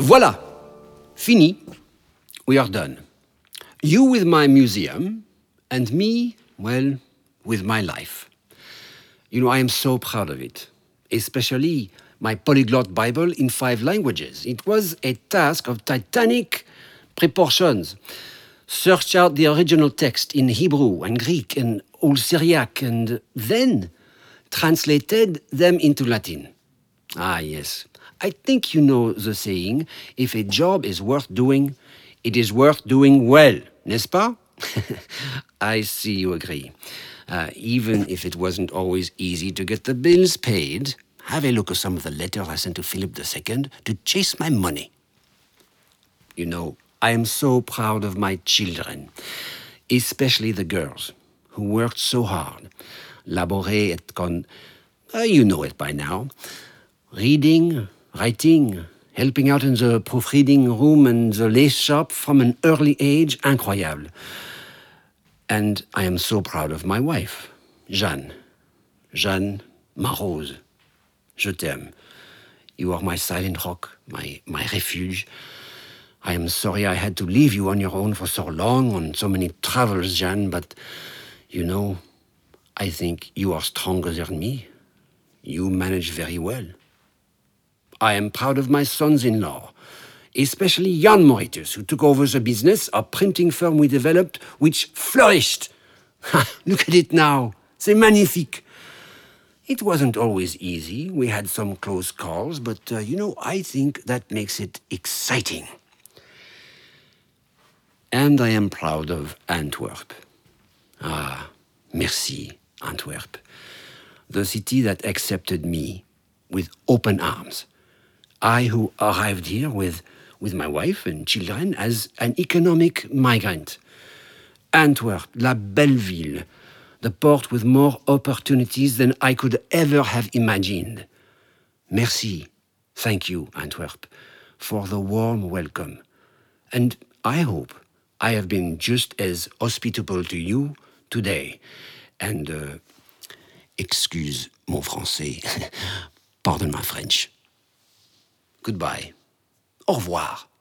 Voilà, fini, we are done. You with my museum, and me, well, with my life. You know, I am so proud of it, especially my polyglot Bible in 5 languages. It was a task of titanic proportions. Search out the original text in Hebrew and Greek and Old Syriac, and then translated them into Latin. Ah, yes. I think you know the saying, if a job is worth doing, it is worth doing well, n'est-ce pas? I see you agree. Even if it wasn't always easy to get the bills paid, have a look at some of the letters I sent to Philip II to chase my money. You know, I am so proud of my children, especially the girls, who worked so hard. Laborer et con... you know it by now. Reading, writing, helping out in the proofreading room and the lace shop from an early age, incroyable. And I am so proud of my wife, Jeanne. Jeanne, ma rose. Je t'aime. You are my silent rock, my refuge. I am sorry I had to leave you on your own for so long, on so many travels, Jeanne, but, you know, I think you are stronger than me. You manage very well. I am proud of my sons-in-law, especially Jan Mauritius, who took over the business, a printing firm we developed, which flourished. Look at it now. C'est magnifique. It wasn't always easy. We had some close calls, but, you know, I think that makes it exciting. And I am proud of Antwerp. Ah, merci, Antwerp. The city that accepted me with open arms. I who arrived here with my wife and children as an economic migrant. Antwerp, la belle ville, the port with more opportunities than I could ever have imagined. Merci, thank you, Antwerp, for the warm welcome. And I hope I have been just as hospitable to you today. And, excuse mon français, pardon my French. Goodbye. Au revoir.